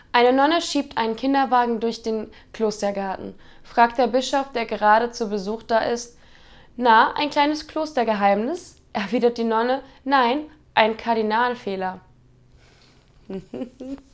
Eine Nonne schiebt einen Kinderwagen durch den Klostergarten. Fragt der Bischof, der gerade zu Besuch da ist: Na, ein kleines Klostergeheimnis? Erwidert die Nonne: Nein, ein Kardinalfehler.